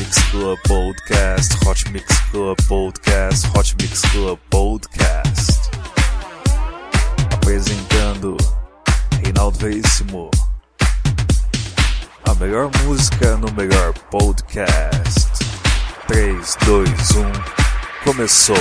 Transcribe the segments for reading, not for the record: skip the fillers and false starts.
Mix Club Podcast, Hot Mix Club Podcast, Hot Mix Club Podcast. Apresentando Reinaldo Veríssimo. A melhor música no melhor podcast. 3, 2, 1, começou!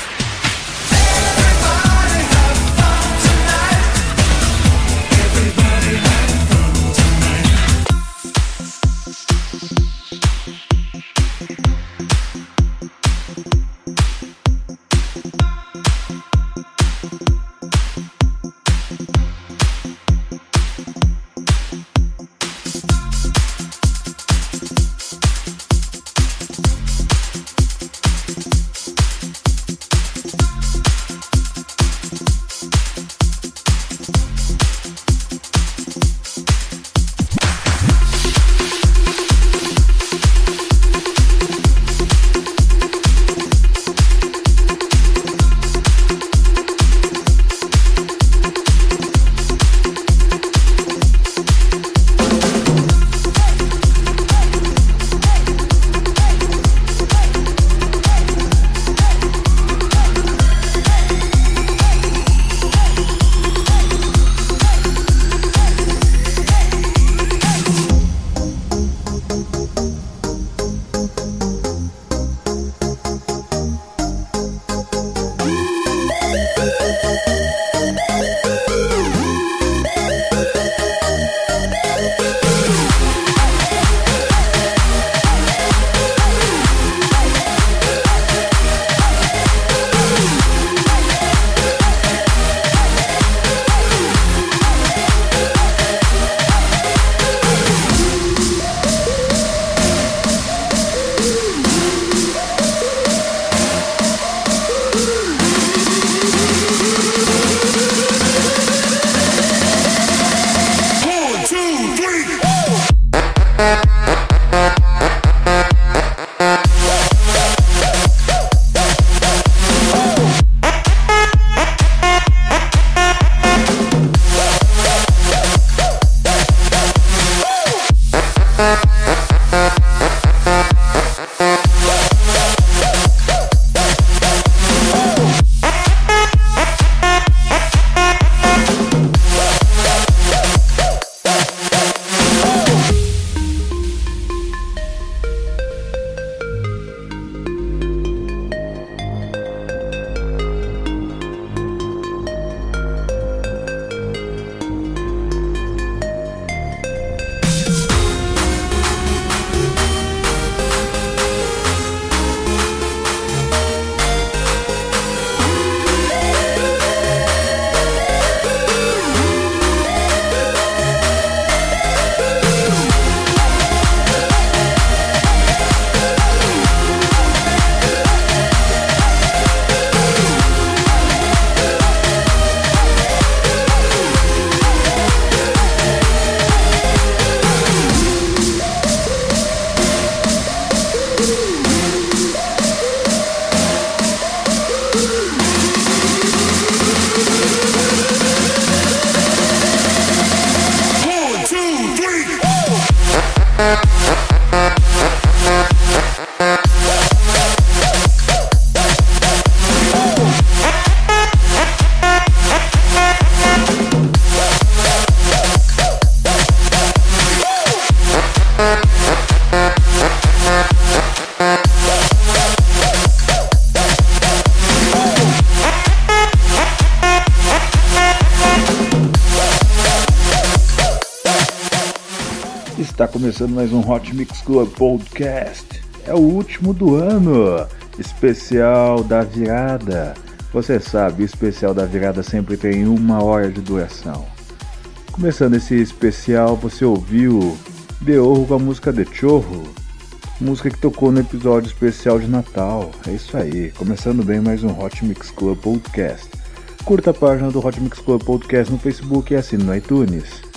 Está começando mais um Hot Mix Club Podcast. É o último do ano, especial da virada. Você sabe, o especial da virada sempre tem 1 hora de duração. Começando esse especial, você ouviu The Orro com a música The Chorro, música que tocou no episódio especial de Natal. É isso aí, começando bem mais um Hot Mix Club Podcast. Curta a página do Hot Mix Club Podcast no Facebook e assine no iTunes.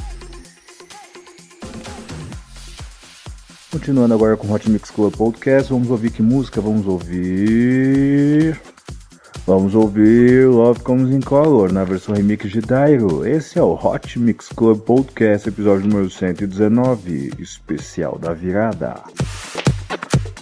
Continuando agora com o Hot Mix Club Podcast, vamos ouvir que música? Vamos ouvir Love Comes in Color, na versão remix de Dairo. Esse é o Hot Mix Club Podcast, episódio número 119, especial da virada.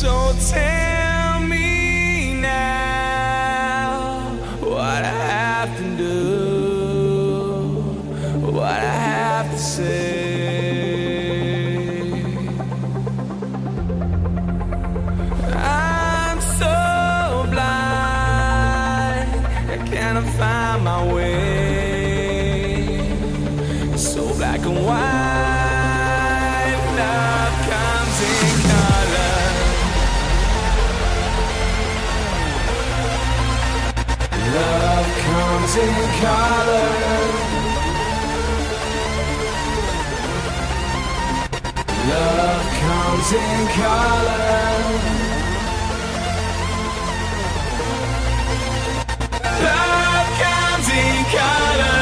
So tell me now what I have to do, what I have to say. I'm so blind, I cannot find my way. It's so black and white, love comes in color. Love comes in color. Love comes in color. Love comes in color.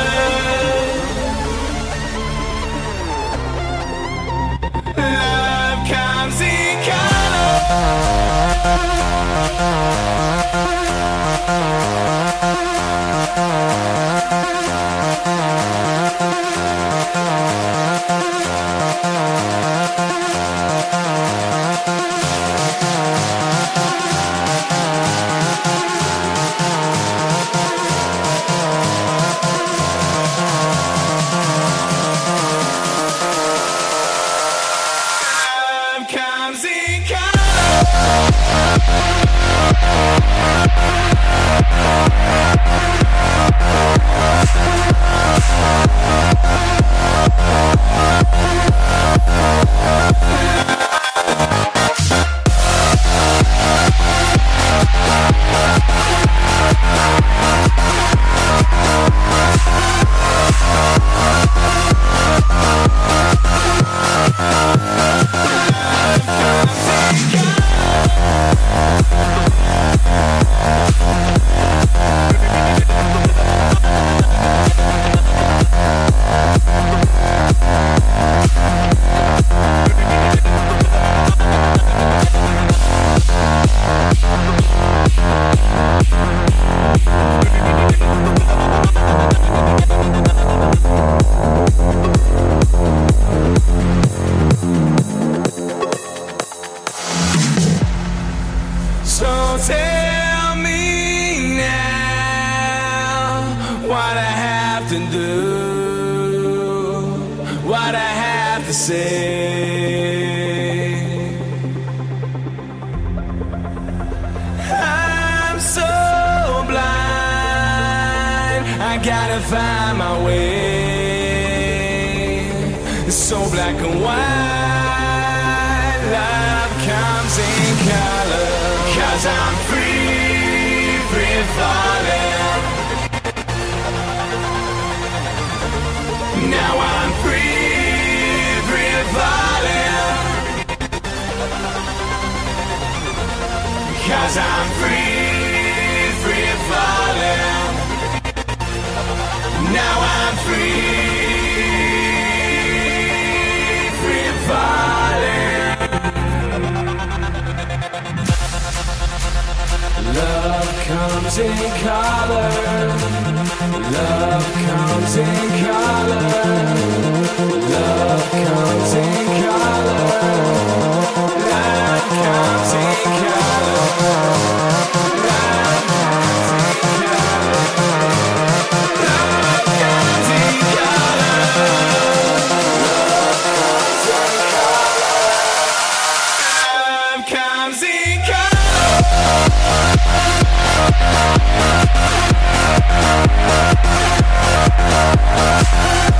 Love comes in color. Love comes in So tell me now what I have to do, what I have to say. I'm so blind, I gotta find my way. It's so black and white, love comes in color. 'Cause I'm free, free falling. Now I'm free, free falling. 'Cause I'm free, free falling. Now I'm free, free falling. Love comes in color. Love comes in color. Love comes in color. Love comes in color. Love comes in color. Love comes in color. Love comes in color.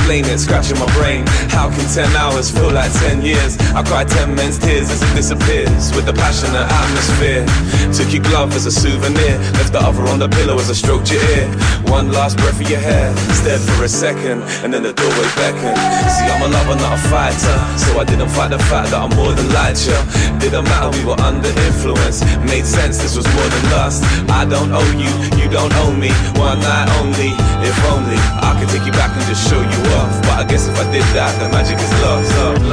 explain it, scratching my brain. How can 10 hours feel like 10 years? I cry 10 men's tears as it disappears with the passionate atmosphere. Took your glove as a souvenir, left the other on the pillow as I stroked your ear. One last breath of your hair, stared for a second, and then the doorway beckoned. See, I'm a lover, not a fighter, so I didn't fight the fact that I'm more than light, you. Didn't matter, we were under influence. Made sense, this was more than lust. I don't owe you, you don't owe me. One night only, if only I could take you back and just show you off. But I guess if I did that, the magic is lost.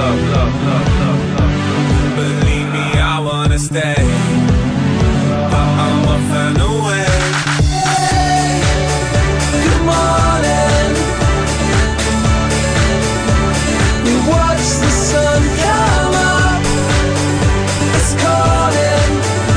Believe me, I wanna stay, but I'm off and away. Good morning. We watch the sun come up. It's calling.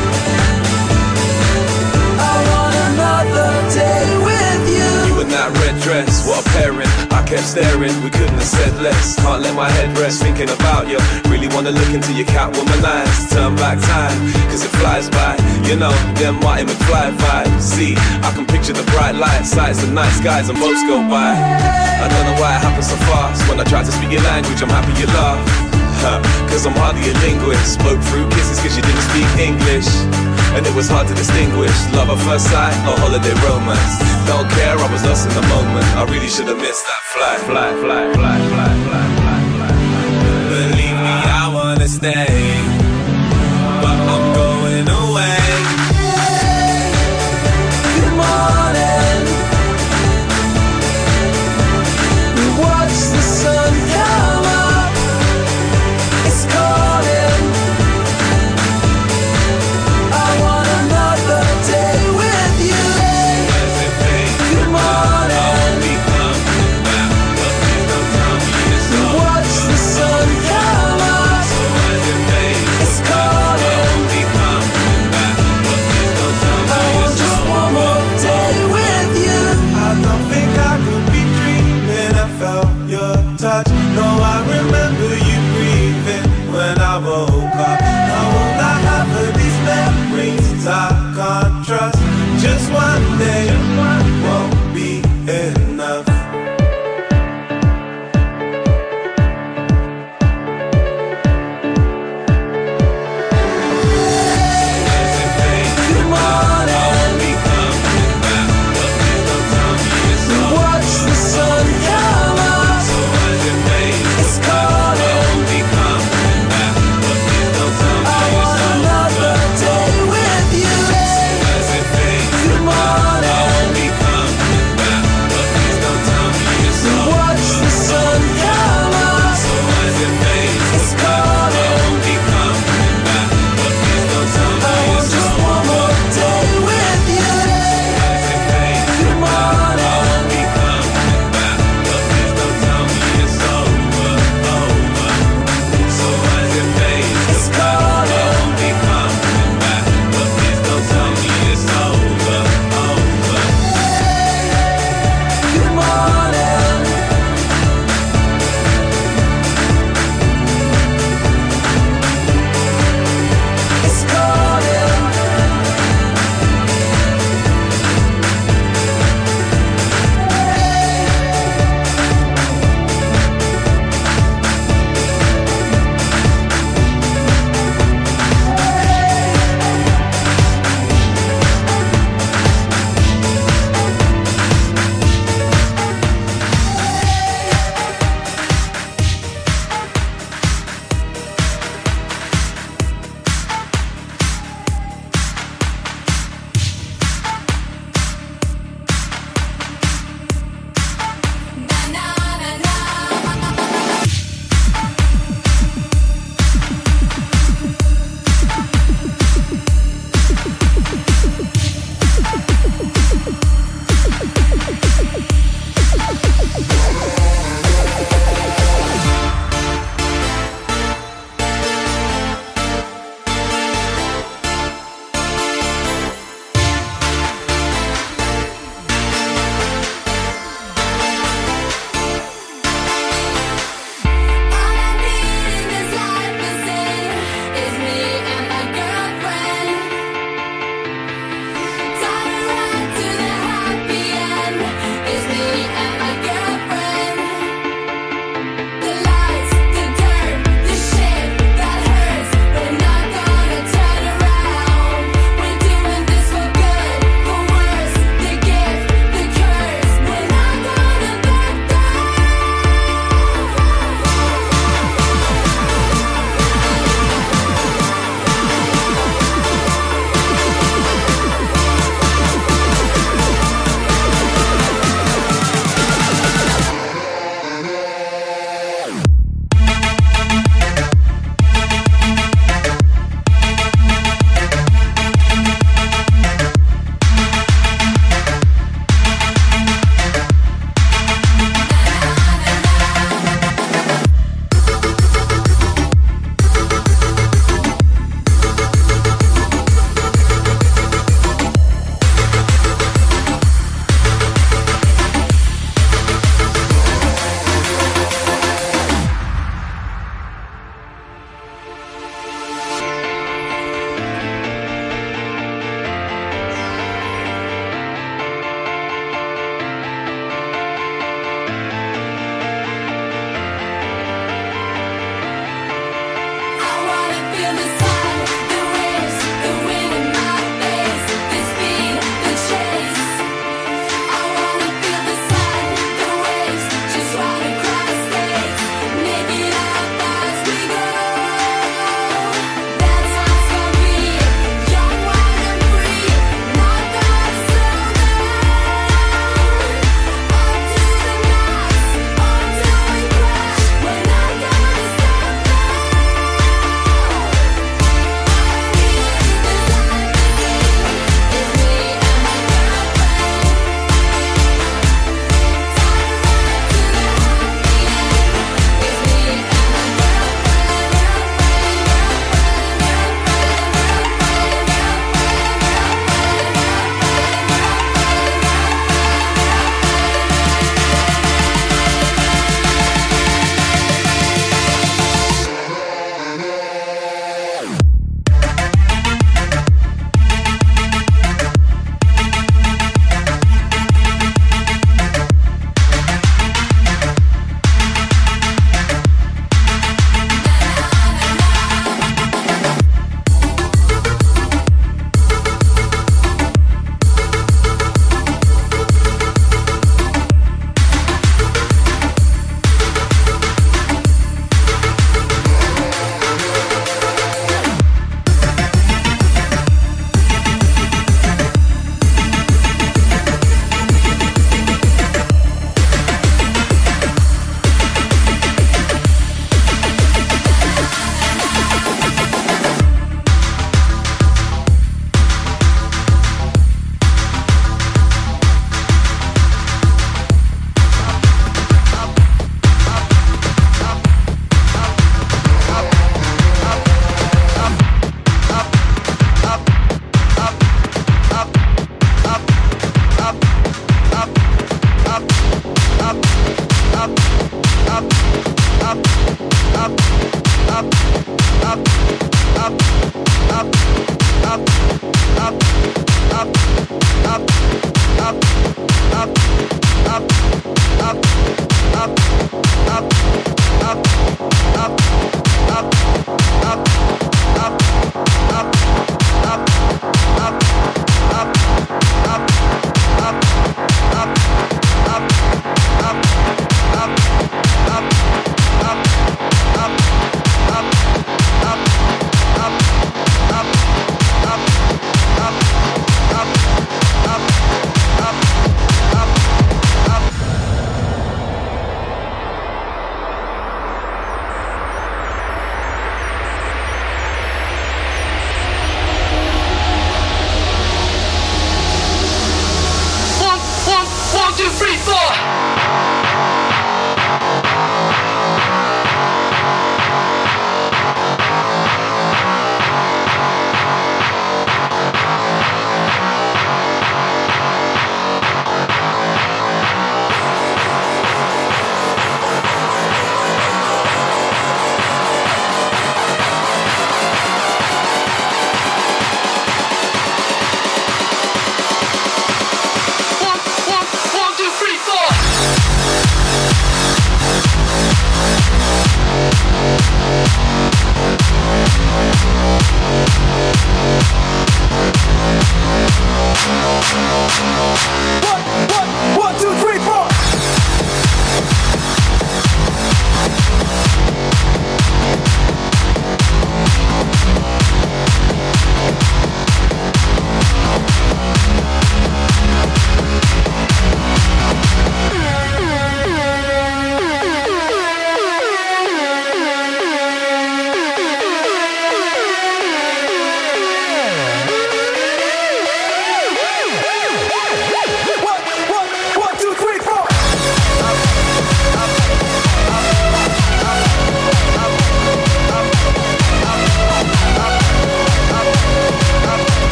I want another day with you. You in that red dress, what a pairing. I kept staring, we couldn't have said less. Can't let my head rest thinking about you. Really wanna look into your Catwoman eyes. Turn back time, cause it flies by. You know, them Marty McFly vibes. See, I can picture the bright lights, sights, the night skies and boats go by. I don't know why it happens so fast. When I try to speak your language, I'm happy you laugh. Cause I'm hardly a linguist. Spoke through kisses cause you didn't speak English, and it was hard to distinguish love at first sight or holiday romance. Don't care, I was lost in the moment. I really should have missed that flight. Believe me, I wanna stay, but I'm going away. Good morning. We watch the sun come up. It's calling. I want another day with you. Good morning. We watch the sun come up. It's calling. I want just one more day with you. I don't think I could be dreaming. I felt your touch. No, I remember you breathing when I woke up. Now won't I have these memories I can't trust? Just one day won't be enough. Good morning. We watch the sun come up. It's calling. I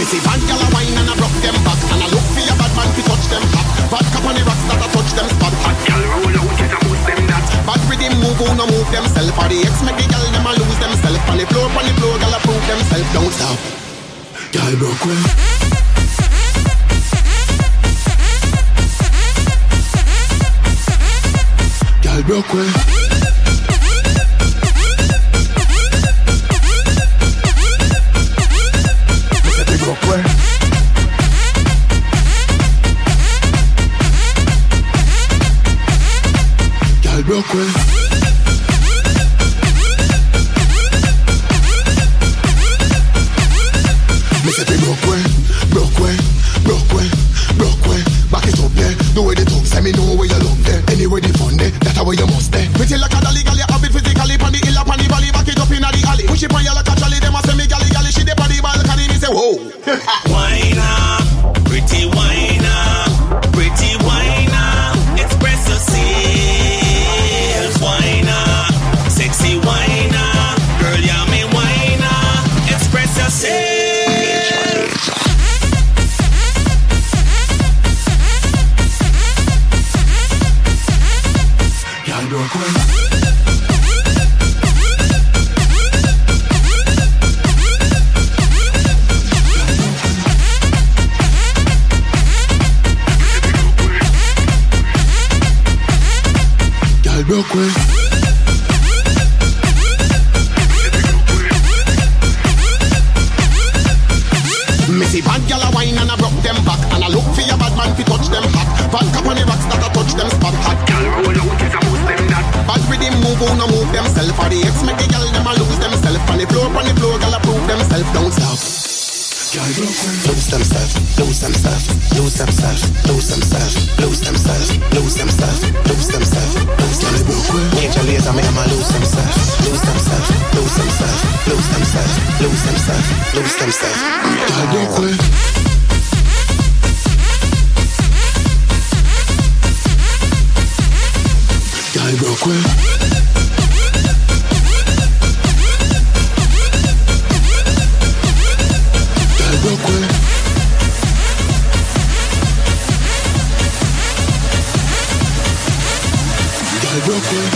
see bad gal a wine and a broke them back, and I look for your bad man to touch them back. Bad cap on the rocks that a touch them spot. Hot gal roll out it a boost them that. Bad rhythm move on a move themself. For the ex make the gal them a lose themself. On the floor gal a prove themself. Don't stop. Gal broke well. Gal broke well. Broke well. Me say we broke well, broke well, broke well, broke well. Back it up there, the way they talk, say me know where you love there. Anyway the fun there, that's how you must there. Me tell like a dolly gal, you have it physically, pan the hill up on the valley, back it up in the alley. Push it on you like a trolley, them a say me galley galley, she dey on the balcony, me say whoa. Wine up, pretty wine up, pretty wine up, express yourself. Whiner, sexy whiner, girl, yeah, me whiner, express yourself. Y'all broke well. Y'all broke well. See bad gal a wine and a broke them back, and I look for your bad man to touch them hot. Bad cap on the rocks that a touch them spot. Hot gal roll out it a boost them that. Bad rhythm move on a move themself. For the ex make the gal them a lose themself. On the floor gal a prove themself. Don't stop. Lose themself, lose themself, lose themself, lose themself, lose themself, lose themself, lose themself, lose themself. Major laser me I'ma lose themself, lose themself, lose themself, lose themself, lose themself, lose themself. Y'all broke well. Y'all broke well. Broke well. Y'all broke well.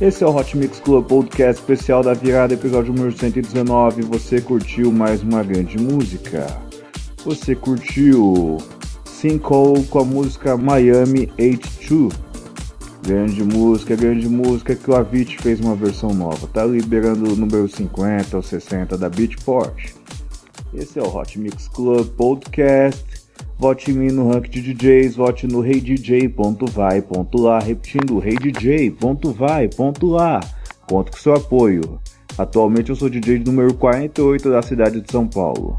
Esse é o Hot Mix Club Podcast especial da virada, episódio número 119. Você curtiu mais uma grande música? Você curtiu Sinkhole com a música Miami H2. Grande música que o Avicii fez uma versão nova. Tá liberando o número 50 ou 60 da Beatport. Esse é o Hot Mix Club Podcast. Vote em mim no ranking de DJs, vote no reidj.vai.lá, repetindo, reidj.vai.lá. Conto com seu apoio. Atualmente eu sou DJ número 48 da cidade de São Paulo.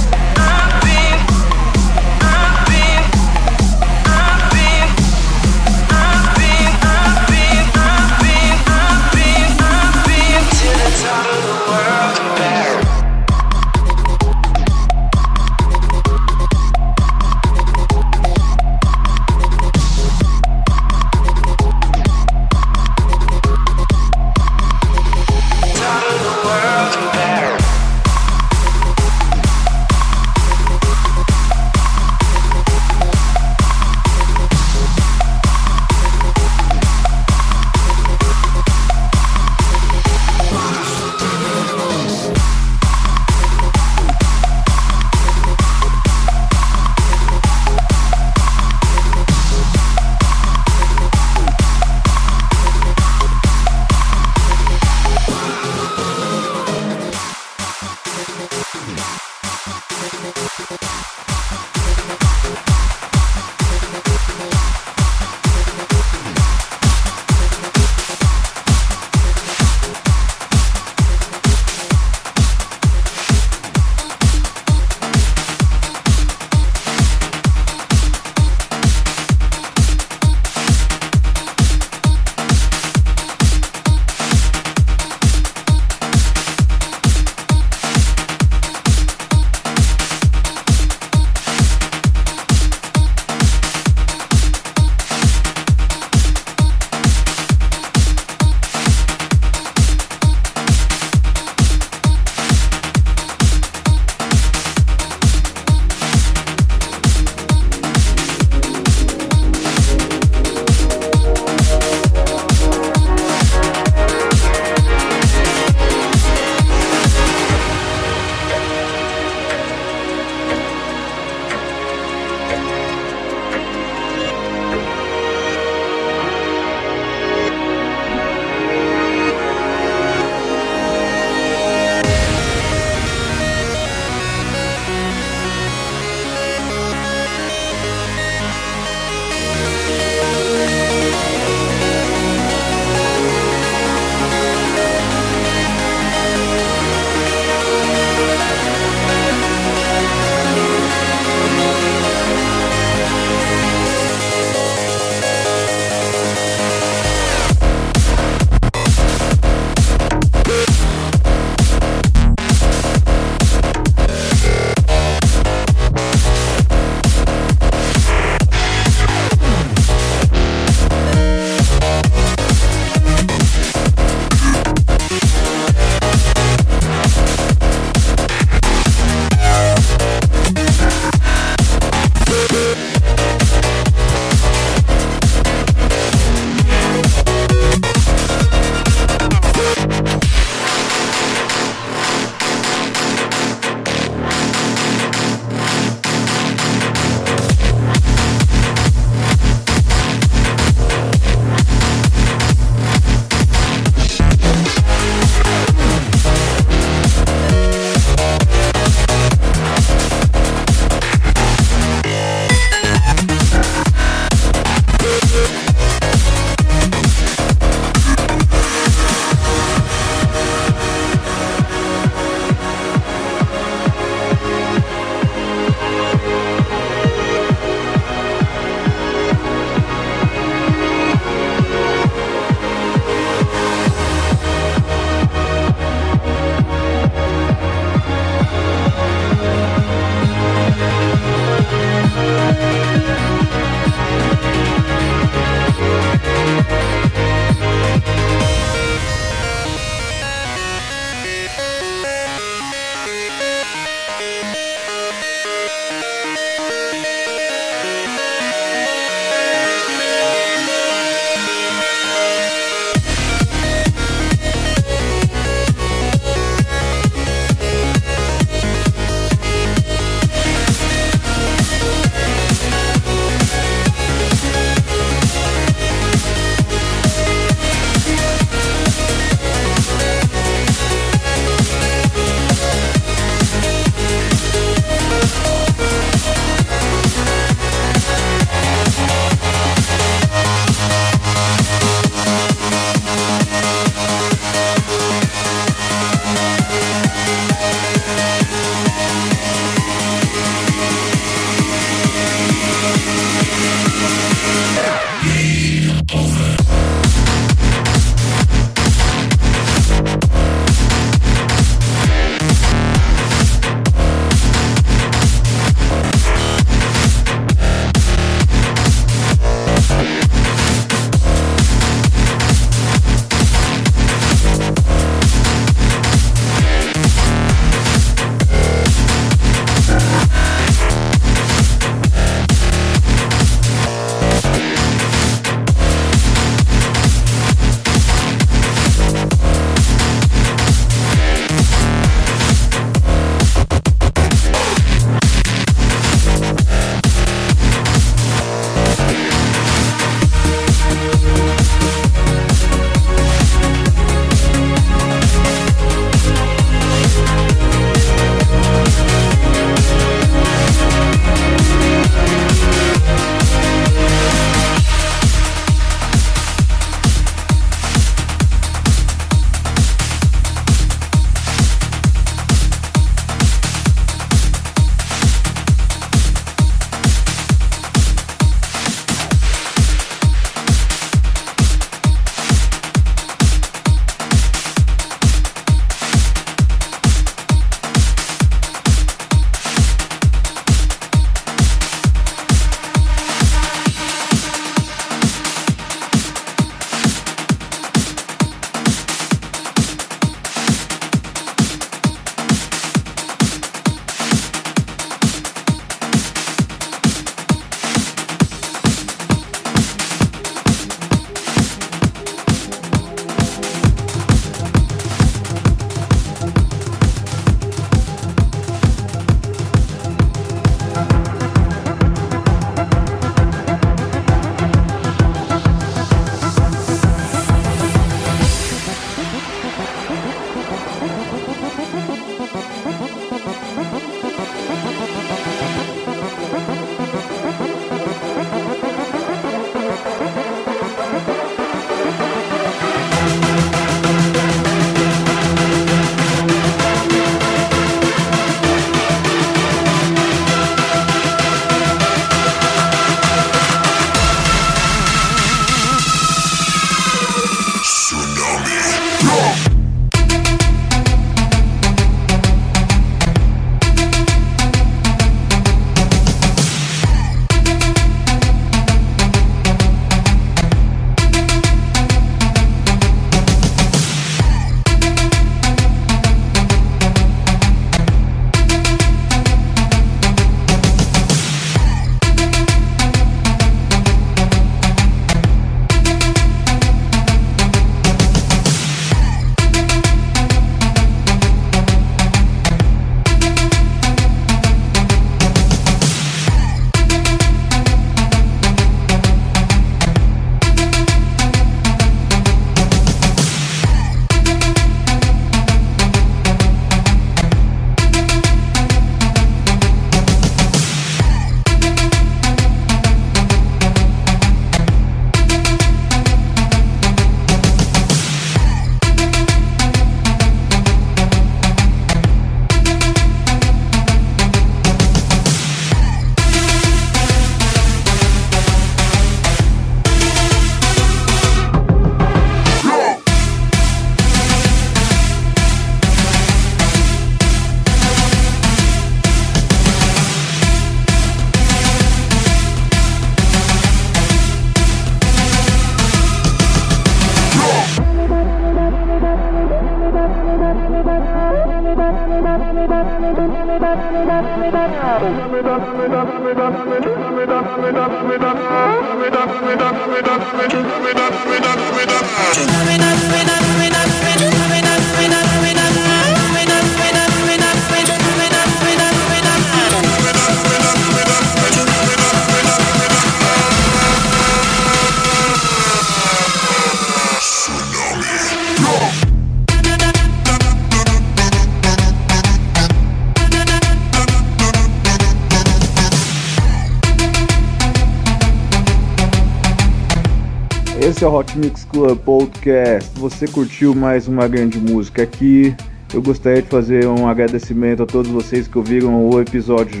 Esse é o Hot Mix Club Podcast. Você curtiu mais uma grande música aqui. Eu gostaria de fazer um agradecimento a todos vocês que ouviram o episódio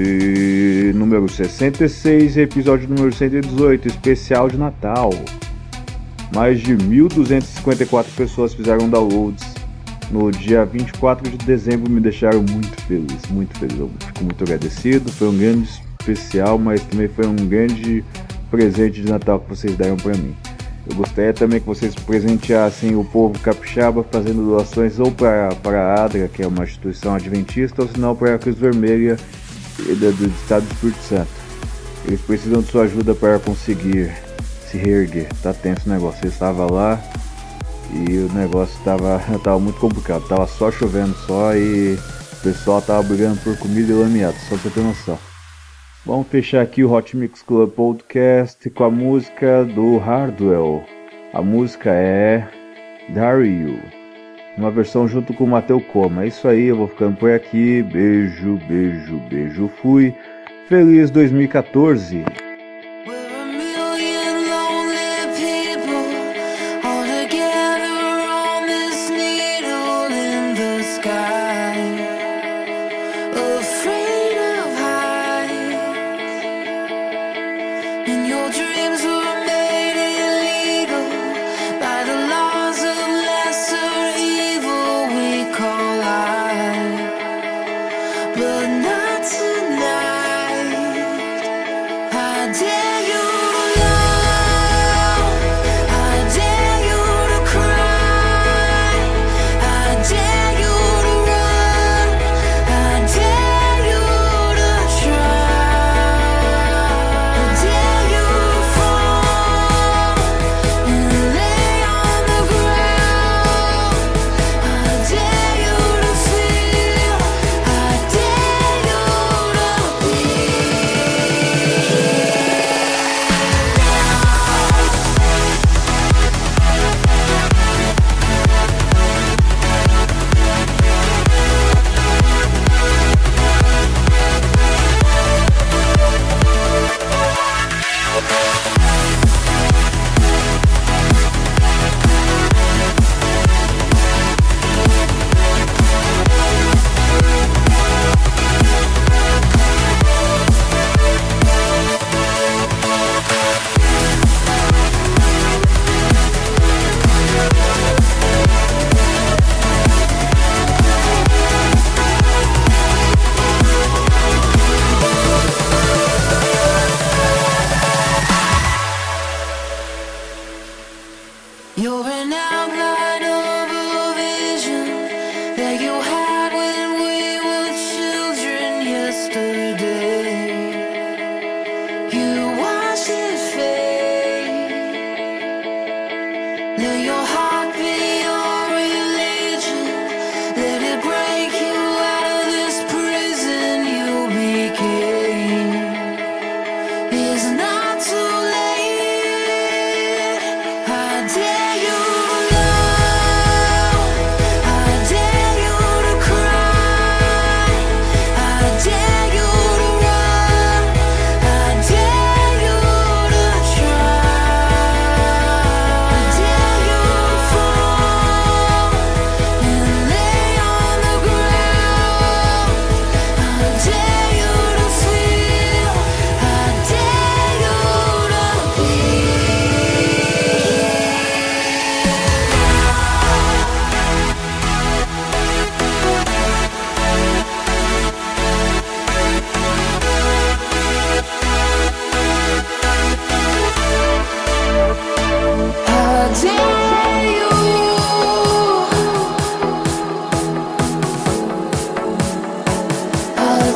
número 66 e episódio número 118, especial de Natal. Mais de 1.254 pessoas fizeram downloads no dia 24 de dezembro, me deixaram muito feliz, muito feliz. Eu fico muito agradecido, foi um grande especial, mas também foi um grande presente de Natal que vocês deram para mim. Eu gostaria também que vocês presenteassem o povo capixaba fazendo doações ou para a ADRA, que é uma instituição adventista, ou se não para a Cruz Vermelha do Estado do Espírito Santo. Eles precisam de sua ajuda para conseguir se reerguer. Tá tenso o negócio. Eu estava lá e o negócio estava muito complicado. Tava só chovendo só e o pessoal estava brigando por comida e lameado, só pra você ter noção. Vamos fechar aqui o Hot Mix Club Podcast com a música do Hardwell. A música é Dario, uma versão junto com o Mateu Coma. É isso aí, eu vou ficando por aqui. Beijo, beijo, beijo. Fui. Feliz 2014. But not tonight. I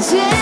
Jam.